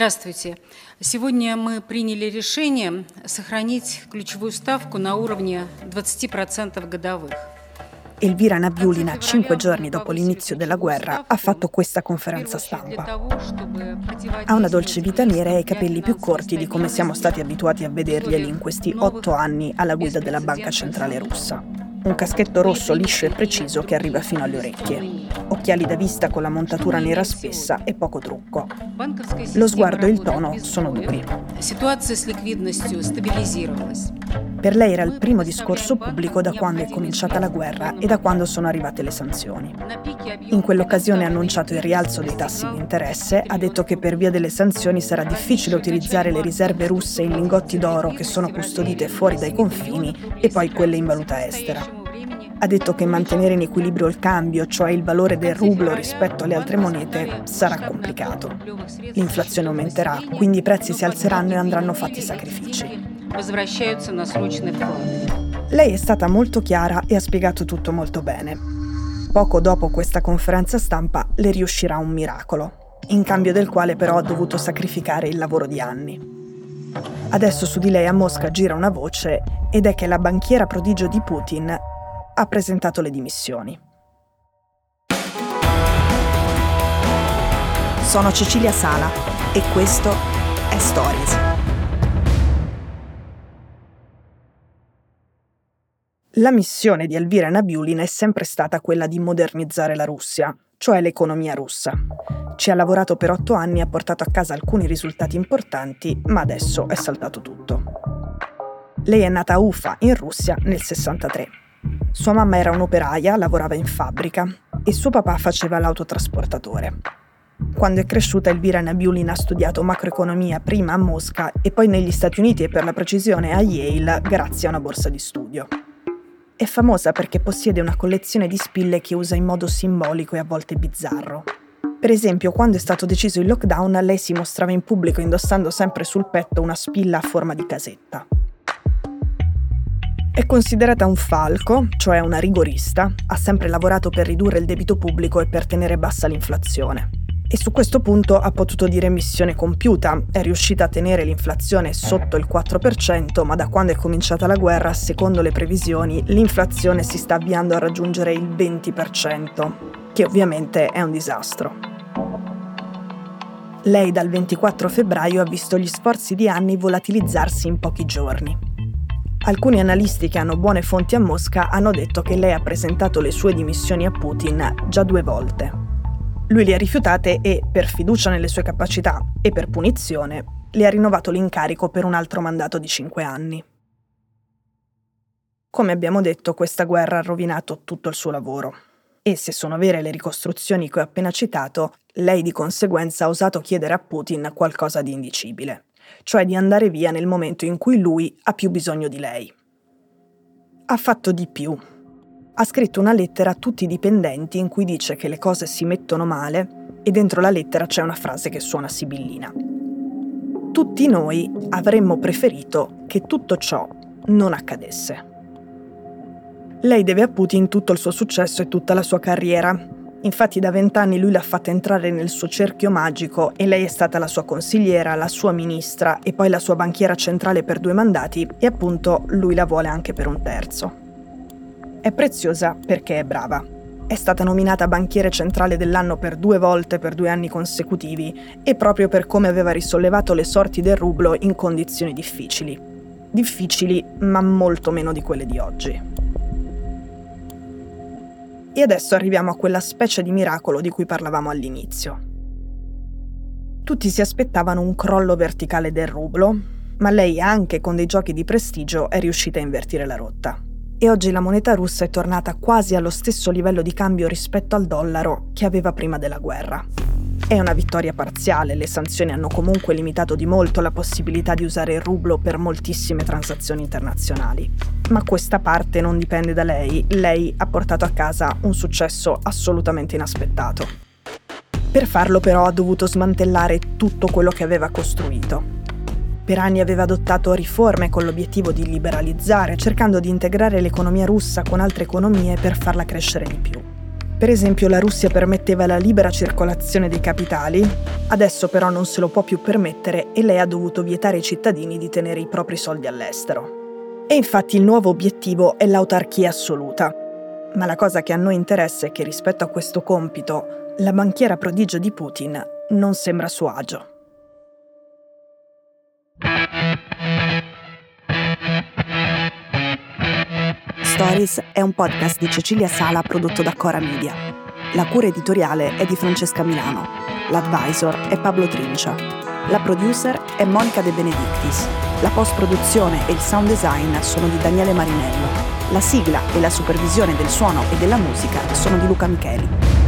Здравствуйте. Сегодня мы приняли решение сохранить ключевую ставку на уровне 20% годовых. Elvira Nabiulina, 5 giorni dopo l'inizio della guerra, ha fatto questa conferenza stampa. Ha una dolce vita nera e i capelli più corti di come siamo stati abituati a vederglieli in questi 8 anni alla guida della Banca Centrale Russa. Un caschetto rosso liscio e preciso che arriva fino alle orecchie. Occhiali da vista con la montatura nera spessa e poco trucco. Lo sguardo e il tono sono duri. Per lei era il primo discorso pubblico da quando è cominciata la guerra e da quando sono arrivate le sanzioni. In quell'occasione ha annunciato il rialzo dei tassi di interesse, ha detto che per via delle sanzioni sarà difficile utilizzare le riserve russe in lingotti d'oro che sono custodite fuori dai confini e poi quelle in valuta estera. Ha detto che mantenere in equilibrio il cambio, cioè il valore del rublo rispetto alle altre monete, sarà complicato. L'inflazione aumenterà, quindi i prezzi si alzeranno e andranno fatti sacrifici. Lei è stata molto chiara e ha spiegato tutto molto bene. Poco dopo questa conferenza stampa le riuscirà un miracolo, in cambio del quale però ha dovuto sacrificare il lavoro di anni. Adesso su di lei a Mosca gira una voce ed è che la banchiera prodigio di Putin ha presentato le dimissioni. Sono Cecilia Sala e questo è Stories. La missione di Elvira Nabiulina è sempre stata quella di modernizzare la Russia, cioè l'economia russa. Ci ha lavorato per 8 anni e ha portato a casa alcuni risultati importanti, ma adesso è saltato tutto. Lei è nata a Ufa, in Russia, nel 63. Sua mamma era un'operaia, lavorava in fabbrica e suo papà faceva l'autotrasportatore. Quando è cresciuta, Elvira Nabiulina ha studiato macroeconomia prima a Mosca e poi negli Stati Uniti e per la precisione a Yale grazie a una borsa di studio. È famosa perché possiede una collezione di spille che usa in modo simbolico e a volte bizzarro. Per esempio, quando è stato deciso il lockdown, lei si mostrava in pubblico indossando sempre sul petto una spilla a forma di casetta. È considerata un falco, cioè una rigorista, ha sempre lavorato per ridurre il debito pubblico e per tenere bassa l'inflazione. E su questo punto ha potuto dire missione compiuta, è riuscita a tenere l'inflazione sotto il 4%, ma da quando è cominciata la guerra, secondo le previsioni, l'inflazione si sta avviando a raggiungere il 20%, che ovviamente è un disastro. Lei dal 24 febbraio ha visto gli sforzi di anni volatilizzarsi in pochi giorni. Alcuni analisti che hanno buone fonti a Mosca hanno detto che lei ha presentato le sue dimissioni a Putin già 2 volte. Lui le ha rifiutate e, per fiducia nelle sue capacità e per punizione, le ha rinnovato l'incarico per un altro mandato di 5 anni. Come abbiamo detto, questa guerra ha rovinato tutto il suo lavoro. E se sono vere le ricostruzioni che ho appena citato, lei di conseguenza ha osato chiedere a Putin qualcosa di indicibile, cioè di andare via nel momento in cui lui ha più bisogno di lei. Ha fatto di più. Ha scritto una lettera a tutti i dipendenti in cui dice che le cose si mettono male e dentro la lettera c'è una frase che suona sibillina. Tutti noi avremmo preferito che tutto ciò non accadesse. Lei deve a Putin tutto il suo successo e tutta la sua carriera. Infatti da 20 anni lui l'ha fatta entrare nel suo cerchio magico e lei è stata la sua consigliera, la sua ministra e poi la sua banchiera centrale per 2 mandati e appunto lui la vuole anche per un terzo. È preziosa perché è brava. È stata nominata banchiere centrale dell'anno per 2 volte per 2 anni consecutivi e proprio per come aveva risollevato le sorti del rublo in condizioni difficili. Difficili, ma molto meno di quelle di oggi. E adesso arriviamo a quella specie di miracolo di cui parlavamo all'inizio. Tutti si aspettavano un crollo verticale del rublo, ma lei anche con dei giochi di prestigio è riuscita a invertire la rotta. E oggi la moneta russa è tornata quasi allo stesso livello di cambio rispetto al dollaro che aveva prima della guerra. È una vittoria parziale, le sanzioni hanno comunque limitato di molto la possibilità di usare il rublo per moltissime transazioni internazionali. Ma questa parte non dipende da lei, lei ha portato a casa un successo assolutamente inaspettato. Per farlo però ha dovuto smantellare tutto quello che aveva costruito. Per anni aveva adottato riforme con l'obiettivo di liberalizzare, cercando di integrare l'economia russa con altre economie per farla crescere di più. Per esempio, la Russia permetteva la libera circolazione dei capitali, adesso però non se lo può più permettere e lei ha dovuto vietare ai cittadini di tenere i propri soldi all'estero. E infatti il nuovo obiettivo è l'autarchia assoluta. Ma la cosa che a noi interessa è che rispetto a questo compito, la banchiera prodigio di Putin non sembra a suo agio. Stories è un podcast di Cecilia Sala prodotto da Cora Media. La cura editoriale è di Francesca Milano. L'advisor è Pablo Trincia. La producer è Monica De Benedictis. La post-produzione e il sound design sono di Daniele Marinello. La sigla e la supervisione del suono e della musica sono di Luca Micheli.